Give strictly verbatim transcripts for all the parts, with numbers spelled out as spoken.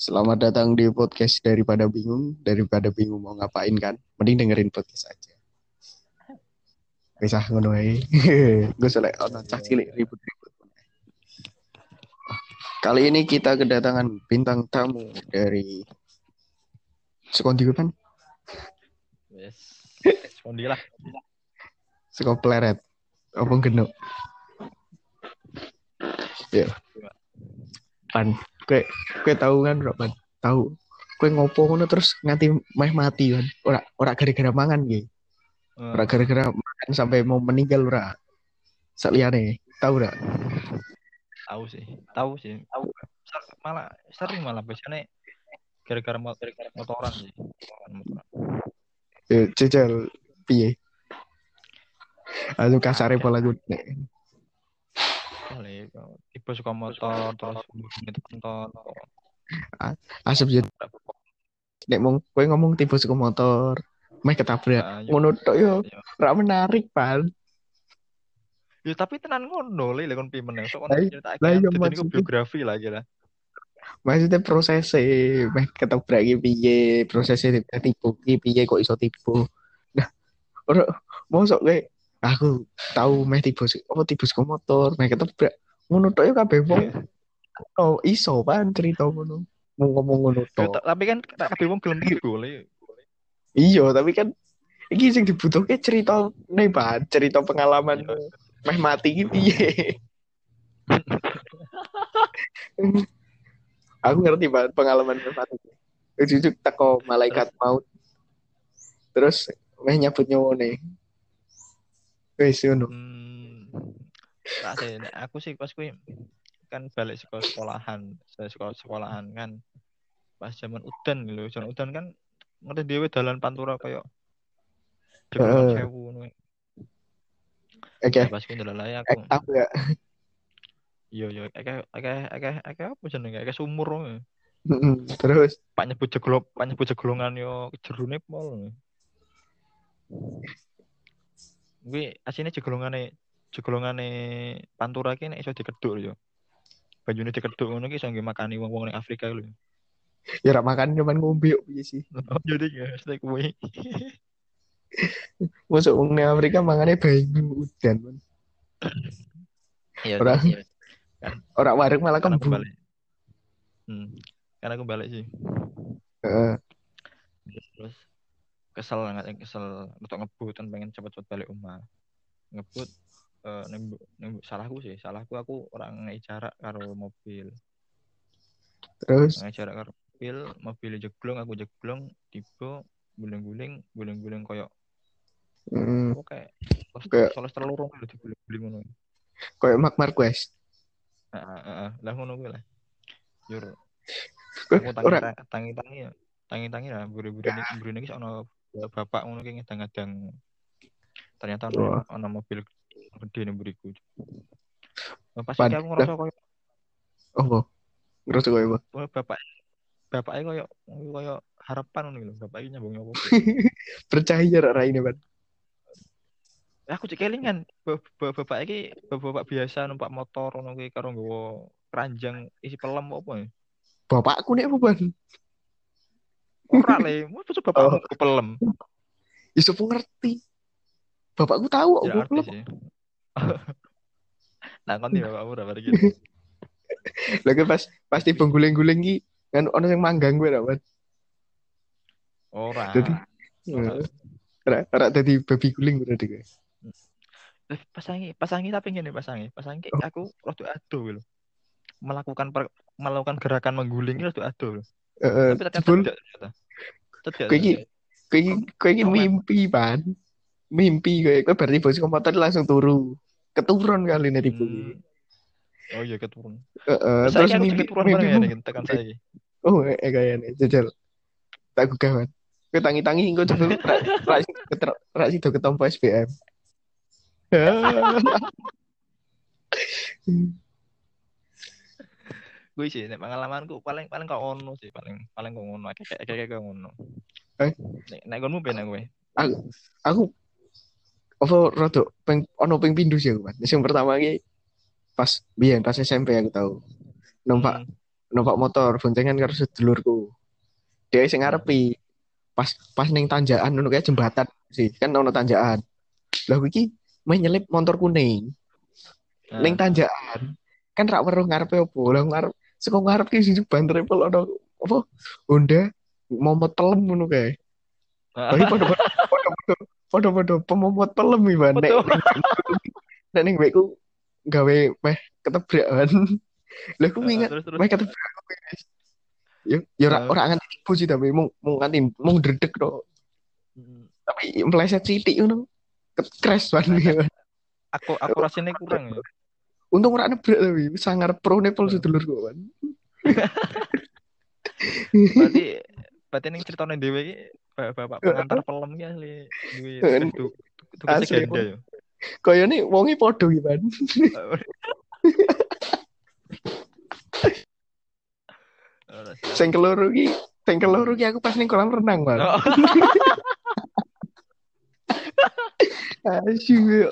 Selamat datang di podcast daripada bingung, daripada bingung mau ngapain kan? Mending dengerin podcast aja. Bisa ngono ae. Gue selek ono cah Iya, cilik iya. ribut-ribut. Kali ini kita kedatangan bintang tamu dari Sekondi kan? Wes, sekondi lah. Sekop Pleret. Apa genuk? Ya, Gimana? pan. Kue kue tahu kan, Bro, pan? Tahu. Kue ngopo ngono terus nganti meh mati kan? Ora ora gara-gara mangan gitu. Ora Eh, gara-gara makan sampai mau meninggal ora. Sakliane, tahu ora? tahu sih, tahu sih. Ser- malah sering malah biasanya gara-gara mot- motoran sih. Motoran, motoran. Eh, Jajal piye? Aduh kasare Akeh, pola gue. akeh lah ya. Tiba suka motor terus itu motor. Asep jadi nek mong kowe ngomong tiba suku motor, meh ketabrak. Ah, yo, Ngono tok yo yo. ora menarik, Pan. Ya, tapi tenan ngono le lekon pimen ya. So kon Lah i- lah nyeritakake yo jadi niku maksudnya biografi lah kira. maksudnya prosesnya meh ketabrak iki piye, prosesnya tipu iki piye kok iso tipu. Nah, ora mosok kowe aku tahu meh tiba su- oh tiba suku motor, meh ketabrak. Ngono tok yo kabeh wong oh iso pan cerita ngono. Mau ngomong ngono Yo, tok. ta- tapi kan tak kabeh wong gelem tiba le. Iya, tapi kan iki sing dibutuhke cerita nih, Pan, cerita pengalaman Iya. meh mati iki piye. Aku ngerti banget pengalaman meh mati. Ujuk teko Terus malaikat maut terus meh nyabut nyawone. Wis ngono. hmm, tak sih, nek aku sih pas kuwi kan balik sekolah sekolahan, saya sekolah sekolahan kan pas zaman udan gitu, zaman udan kan ngerti dhewe dalan pantura kayak jeglongan Heeh. sewu ngono. Oke, Nah, pas kuwi ndelok ae aku, ek tahu ya. iya iya akeh akeh akeh akeh apa jenenge akeh sumur ngono. Terus Pak nyebut jeglok, Pak nyebut jeglongan yo jerone pol. Kuwi asine jeglongane jeglongane pantura ki nek iso dikeduk yo. Banyune dikeduk ngono ki iso nggih makani wong-wong ning Afrika lho. ya rak makan cuman ngombe kok piye sih. Oh, jadi ya, steak kuwi. Masuk wong nang Afrika mangane banyu udan. Man. Iya Ora terus kan ora wareg malah kan aku kembung. balik. Hmm. Kan aku balik sih. Heeh. Terus kesel nggak kesel untuk ngebut kan pengen cepet-cepet balik rumah. Ngebut eh nembuk nembuk salahku sih. Salahku aku orang ngei jarak karo mobil. Terus Ngei jarak karo mobil, mobil jeglong aku jeglong tiba guling-guling guling-guling koyo mm, apa kayak kayak soles terlorong lho diguling-guling ngono. kayak Mark Marquez. Heeh heeh. Lah ngono kuwi lah. Jur Kowe aku tangi ora tangi tangi ya tangi tangi lah buru-buru ini buru ini ono bapak ngono kayak ngedang-ngedang ternyata ono wah, ono mobil gede nih buriku. Nah, pas iki pan. aku Lah, ngerasa koyo oh, ngerasa koyo apa? koyo bapak bapaknya koyo koyo harapan ngono lho bapak iki nyambung nyopo. Percaya rak ini, Pan. Aku cek kelingan bapak iki bapak biasa numpak motor ngono kuwi karo nggawa keranjang isi pelem apa ya. Bapakku nih apa, Pan? Ora le, mau bapakmu Oh, ke pelem. Yusuf ngerti. Bapakku tahu Tidak aku ngerti belum. sih. Nah, kon di bapakmu udah pada gitu. Lagi pas pasti pengguling-guling ki kan ono yang manggang gue dapat. Jadi Ora, ora. eh, ora ora tadi babi guling berarti gue. Eh, pasangi, pasangi tapi gini pasangi, pasangi Oh, aku waktu ado gitu. Melakukan per, melakukan gerakan mengguling itu waktu ado. eh, Tapi ternyata jebul tidak ternyata. Tidak kowe iki ternyata. kowe iki kowe iki Coba. mimpi, Pan. Mimpi kowe kowe berarti bos komputer langsung turu. Keturun kali nih tipu iki. Hmm, oh iya keturun. Heeh, Terus terus saya aku juga mimpi keturun bareng ya mimpimu nih tekan saya. oh eh eh, kayaknya jajal tak gugah kan. Kowe tangi-tangi engko jebul rak rak rak rak sido ketompo S B M. Gue sih, nek pengalamanku paling paling kau ono sih paling paling kau ono kayak kayak kayak kau ono. Eh, Nek nek gonmu ben gue. aku aku apa rada peng ono ping pindho sih aku kan. Sing pertama ki pas biyen pas S M P aku tahu numpak Hmm. numpak motor boncengan karo sedulurku. Dia sing Heeh. ngarepi. Pas pas ning tanjakan ngono kayak jembatan sih, kan ono tanjakan. Lah iki main nyelip motor kuning ning Heeh. tanjakan. Kan rak weruh ngarepe opo. Lah ngarep saka ngarep ki siji ban triple ono apa Honda momot pelem ngono kae. Lagi padha-padha padha-padha padha-padha pemomot pelem iki, Ban. Nek Betul. ning nek ning mbekku gawe meh ketebrakan. Lah aku Heeh, ingat terus terus. meh ketebrak. Ya ya ora Heeh. ora nganti tipu sih tapi mung mung nganti mung dredeg tok. Mm. Tapi meleset sithik ngono. Ket- Crash ban Nah, iki, nah, Ban. aku aku rasanya kurang ya. Untung ora nebrak tapi sangar pro nepal Heeh. sedulur kok, Ban. Berarti berarti ning ceritane dhewe iki bapak pengantar pelem ki asli duwe tugas tu, tugasnya Asli ganda ya. koyone wonge padha iki, Ban. Ora sih. Sing keloro ki, sing keloro ki aku pas ning kolam renang, Ban. Oh. Asyik.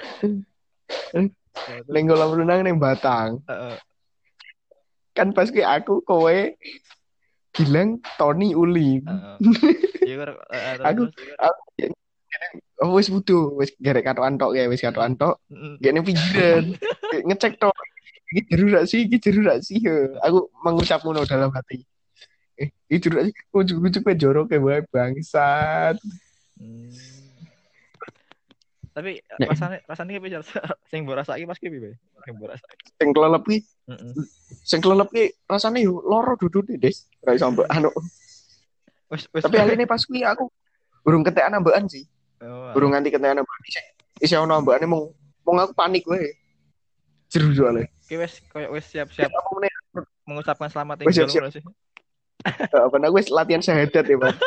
Ya, terus Ning kolam renang ning Batang. heeh. Kan pas ki aku kowe bilang Tony Uli. Heeh. Iya karo heeh, terus Aku terus. aku oh, wis wudu, wis garek katokan tok ya, wis Heeh. katokan tok. Heeh. Gak ning pinggiran. Ngecek tok. Iki jeru rak sih, iki jeru rak sih. Aku mengucap ngono dalam hati. Eh, iki jeru rak sih. Ujug-ujug kowe jorok kayak wae bangsat. Hmm. Tapi Nek rasanya rasanya piye sing mbok rasake pas ki piye? Sing mbok rasake. sing kelelep ki, Heeh. sing kelelep ki rasane yo loro dudune, Des. Ra iso mbok anu. Wis wis. Tapi aline pas kuwi aku burung ketekan ambekan sih. Oh, Burung alah. nganti ketekan ambekan sih. Isi ono ambekane mung mung aku panik wae. Jeru soalnya. Ki wis koyo wis siap-siap Apa meneh mengucapkan selamat wis tinggal siap-siap. ngono sih. Apa aku wis latihan syahadat ya, Bang.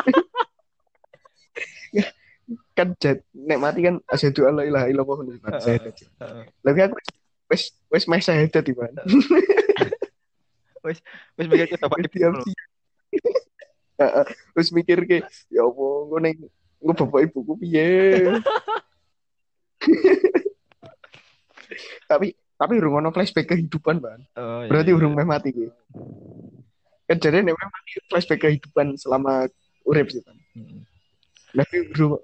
Kan jat, nek mati kan asyhadu alla ilaha illallah wa la Heeh. syahadat. Heeh. Lagi aku wis wis meh syahadat iki, Bang. Wis wis mikir ke bapak Wis ibu diam lho. sih. Heeh. Wis mikir ke ya apa engko ning engko bapak ibuku piye. Tapi tapi urung ono flashback kehidupan, Bang. Oh iya Berarti iya. urung meh mati kuwi. Kan jare nek meh mati flashback kehidupan selama urip sih, Bang. Heeh. Tapi urung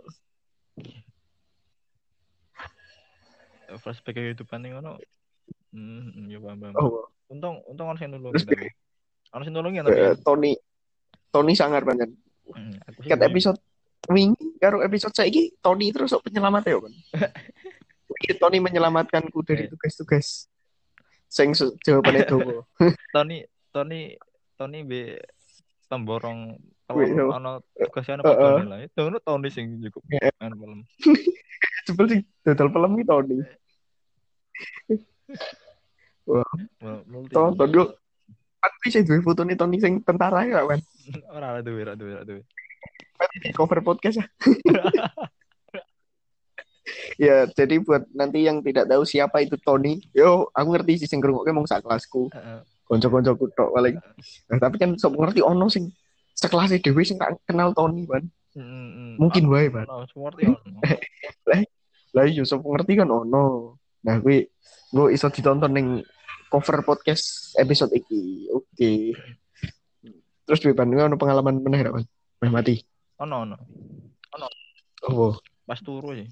Flashback kehidupan ning ngono. Hmm, ya paham paham. oh, Untung untung ono sing nulungi terus tapi. Ono sing nulungi tapi ya. eh, Tony Tony sangar banget. Hmm, aku sih Kat guyu. episode wingi karo episode saiki Tony terus kok penyelamat ya, Bang. Wingi Tony menyelamatkanku dari Eh, tugas-tugas sing su- jawabannya dowo. Tony Tony Tony be pemborong Wih, pelem so, ono tugasnya ono heeh. padone lah. Itu ono Tony sing cukup Ya, anu pelem. sebel sih dodol film iki Tony. Wah, Multi multi. tonton dulu. Tapi sih duwe fotone Tony sing tentara ya, kan. Ora ada duwe, ora duwe, ora duwe. Cover podcast ya. Ya, jadi buat nanti yang tidak tahu siapa itu Tony, yo aku ngerti sih sing ngrungokke mung sak kelasku, Heeh. kanca-kancaku tok paling. Nah, tapi kan sok ngerti ono sing sekelas dhewe sing tak kenal Tony, Ban. Heeh. Mungkin wae, Ban. Ono seperti ono. Lah, lah iya sok ngerti kan ono. Nah, kuwi gue iso ditonton ning cover podcast episode iki. Oke. Terus duwe Ban ono pengalaman meneh ra, Ban? Meh mati. Ono ono. Oh, Pas turu sih.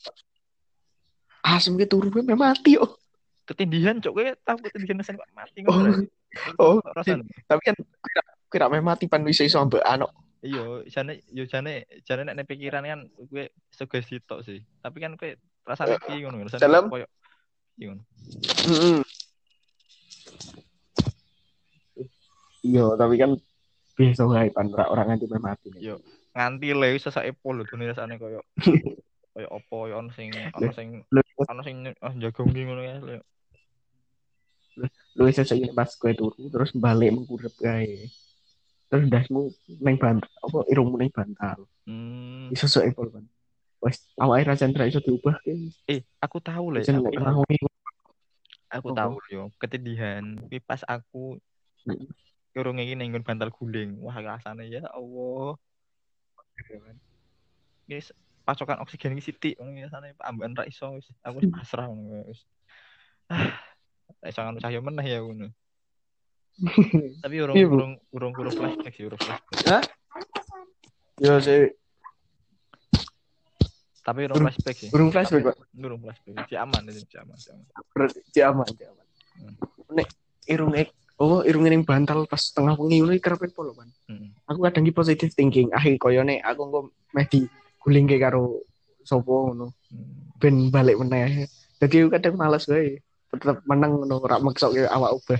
asem ke turu meh mati yo. Ketindihan cok kowe tahu ketindihan sen kok mati Oh, ngono lho. oh. Rasane. Tapi kan kira kira meh mati pan wis iso ambek anak. Iya, jane yo jane jane nek nek pikiran kan kowe sugesti tok sih. Tapi kan kowe rasane piye ngono rasane Dalam koyo piye ngono. mm, iya, tapi kan biasa wae pan ora orang nganti meh mati. Yo nganti le sesake pol lho dunia rasane koyo koyo opo yo ono sing ono sing Lu ono sing oh jaga ngi ngono ya. Lho. lu iso saiki pas kowe turu terus balik mengkurep kae. Terus ndasmu neng bantal apa irungmu neng bantal. Hmm. Iso sok epol kan. Wes awake ra sentra iso diubah ke. Eh, aku tahu le, Jen aku nek tahu. rangi. Aku Apa? tahu yo ketindihan. Kuwi pas aku urung iki ning nggon bantal guling. Wah, rasane ya Allah. Guys, pasokan oksigen iki sithik ngono rasane ambekan ra iso wis. Aku wis pasrah ngono wis. Ah, ra iso ngono cahya meneh ya ngono. Tapi urung Iya, Bu. urung urung urung flashback sih, urung flashback. Hah? Yo sih, Tapi urung burung flashback sih. burung flashback, Pak. Urung flashback. Si aman itu, si aman, si aman. Berarti si aman, si aman. Hmm. Nek irung ek, oh irung yang bantal pas tengah wengi ngono iki kerep polo, Pan. Hmm. Aku kadang ki positive thinking, ah koyo nek aku engko meh di guling ke karo sapa ngono. Hmm. Ben balik meneh. Jadi aku kadang males wae. Tetep menang ngono ora meksoke awak ubah.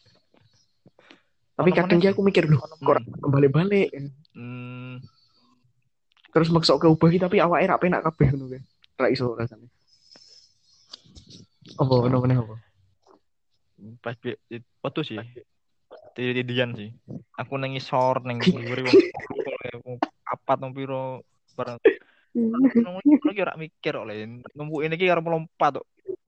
Tapi Ono kadang meneh ki sih. aku mikir loh, kok ora Hmm. kembali-balik. Hmm. Terus meksoke ubah ki tapi awake ra penak kabeh ngono kae. Ra iso rasane. Apa ono meneh apa? Pas foto sih. Tidian sih. Aku nang ngisor ning nguri wong apa nang piro barang. Nang iki ora mikir kok le. Numpuke iki karo melompat kok.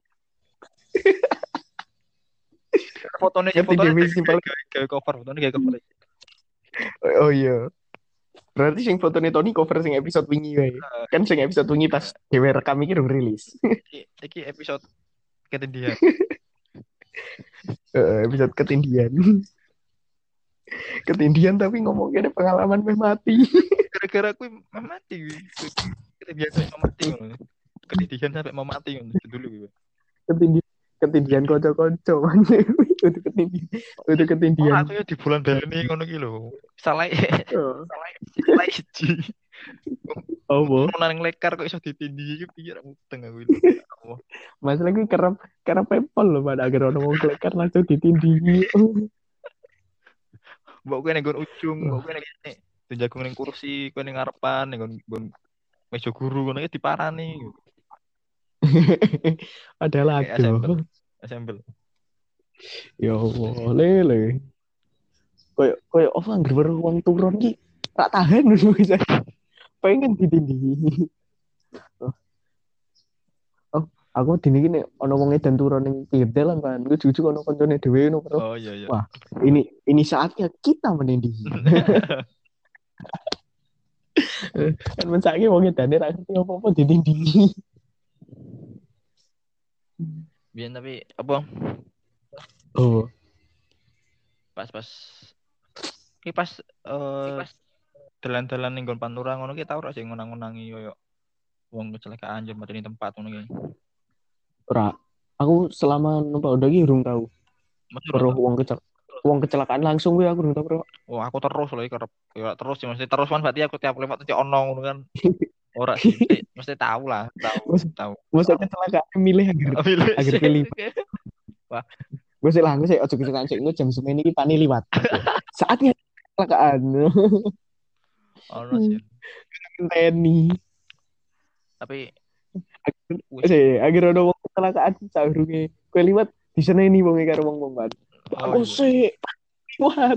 Fotone Ngerti fotone definisi paling. gawe cover, fotone gawe cover. Oh iya. Berarti sing fotone Tony cover sing episode wingi wae. Kan sing episode wingi pas dhewe rekam iki urung rilis. Iki iki episode ketindihan. Heeh, episode ketindihan. Ketindihan tapi ngomongnya pengalaman meh mati. Gara-gara aku mah mati. Ketindihan sampai mau mati ngono. Ketindihan sampai mau mati ngono dulu gitu. Ketindihan ketindihan kocok-kocok man. Untuk ketindihan. Untuk Oh, ketindihan. aku ya di bulan Bali ngono ki lho. Salah Oh. salah salah siji. Oh, boh. Nang lekar kok iso ditindih iki piye ra muteng aku. Mas lagi kerap kerap pepol loh pada agar orang mau kelekar langsung ditindih. Mbok kowe ning ujung, mbok kowe ning kene. Dijagung ning kursi, kowe ning ngarepan ning nggon meja guru ngono iki diparani. Adalah Kayak assemble. aduh. Assemble. Ya Allah, lele. Koyo koyo apa anggere baru uang turun ki tak tahan dulu bisa. Pengen ditindih. Oh, oh, aku dini gini ono wong edan turun ning pinggir dalan kan. Gue jujur ono koncone dhewe ngono bro. Oh iya iya. Wah, ini ini saatnya kita menindih. Kan mensake wong edane ra ngerti apa-apa ditindih. Biyen tapi apa Oh, pas-pas iki pas eh dalan-dalan ning nggon Pantura ngono ki tau ora sing ngonang-ngonangi koyo wong kecelakaan jam mateni tempat ngono ki. ora. Aku selama numpak udah ki urung tahu. Mesti Bro, ora. wong kecel wong kecelakaan langsung gue aku urung tahu, Bro. Oh, aku terus lho iki kerep. Ya terus sih mesti terus kan berarti aku tiap lewat mesti ono ngono kan. Ora sih, mesti, mesti tahu lah, tahu, Mas, tahu. masa kecelakaan milih agar Pilih agar sih. pilih. Wah, Gue sih lah, gue sih ojo kecelakaan sih, gue jam sembilan ini pani liwat. Saatnya kecelakaan. ono sih. Teni. Tapi Agar, sih, agar ada wong kecelakaan saurunge. Gue liwat di sana ini wong karo wong wong kan. oh, Aku iya. sih liwat.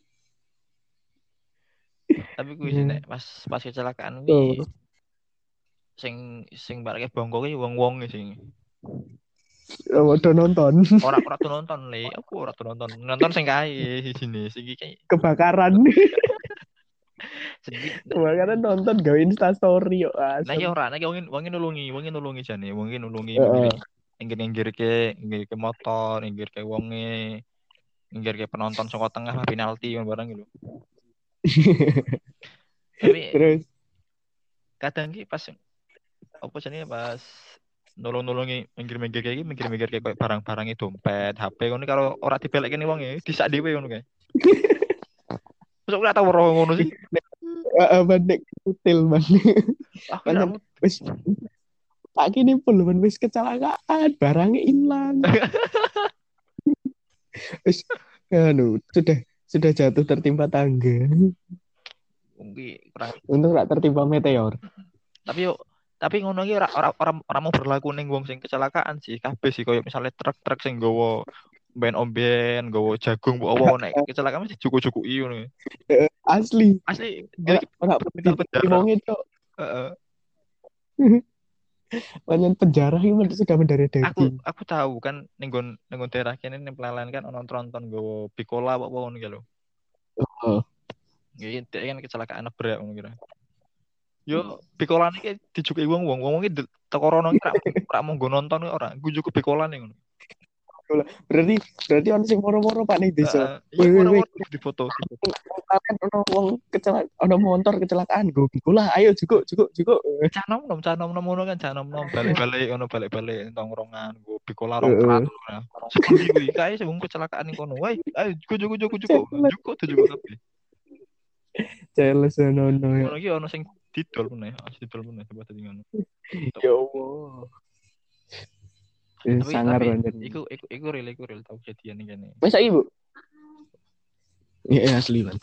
Tapi gue sih nek pas pas kecelakaan iki Oh. sing sing barake bongko ki wong-wong sing Oh, udah nonton ora ora tuh nonton le, aku ora tuh nonton. Nonton sing kae sini sing iki kebakaran. sing Kebakaran nonton gawe Insta story yo nah asem. ya ora, nek wong wong nulungi, wong nulungi jane, wong nulungi Heeh. inggir-inggirke, inggirke motor, inggirke wonge, inggirke penonton saka tengah penalti barang gitu. Tapi Terus kadang ki pas apa jenenge pas nolong-nolongi minggir-minggir kayak gini, minggir-minggir kayak barang-barang itu dompet, H P ngono karo ora dibalekke ning wong e, disak dhewe ngono kae. Masuk ora tau weruh ngono sih. Heeh, bandek kutil man. Aku ora Wis tak kene pun man wis kecelakaan, barangnya hilang. Wis anu sudah sudah jatuh tertimpa tangga. mungkin kurang. Untung gak tertimpa meteor. Tapi yuk tapi ngono iki ora ora ora ora mau berlaku ning wong sing kecelakaan sih, kabeh sih koyo misalnya truk-truk sing nggawa ben omben, nggawa jagung mbok owo nek kecelakaan mesti cuku-cukuki ngono. Asli. Asli Ora ora penjara. penjara. Itu. Heeh. Banyak penjara ini sudah mendarah Aku daging. aku tahu kan ning nggon ning nggon daerah kene ning Pelalen kan ono tronton nggawa bikola apa ngono iki lho. Heeh. Iki kan kecelakaan nabrak ngono kira. Yo pikolane iki dijuki wong-wong, wong iki teko rono iki ora ora mung nggo nonton ora, nggo juku pikolane ngono. Berarti berarti ono sing moro-moro Pak ning desa. Heeh. Iya Woi woi woi. moro-moro di foto di foto. Kalian ono wong kecelakaan, ono motor kecelakaan go bikola. Ayo jukuk jukuk jukuk. Cah nom nom cah nom nom ngono kan cah nom nom balik-balik ngono balik-balik tongkrongan gue bikola rong prat Heeh. ngono. Sepundi kuwi kae sing kecelakaan ning kono. Woi, ayo juko juko juko juko. Celes Juko tuh juko kabeh. celes ono ono ya. Ngono iki ono sing didol meneh, didol meneh coba dadi ngono. Ya Allah. Eh, Tapi sangar tapi banget. iku iku iku real iku real tau kejadian ning kene. Masa ibu? Iya asli kan.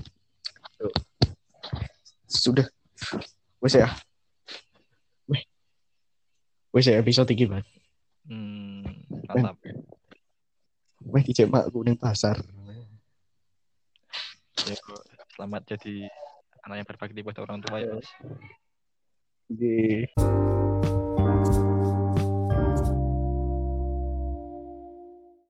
Sudah. Wes ya. Weh. Wes ya episode iki, Mas. Hmm, mantap. Weh dijek makku ning pasar. Ya, selamat jadi anak yang berbakti buat orang tua ya, Mas. Nggih.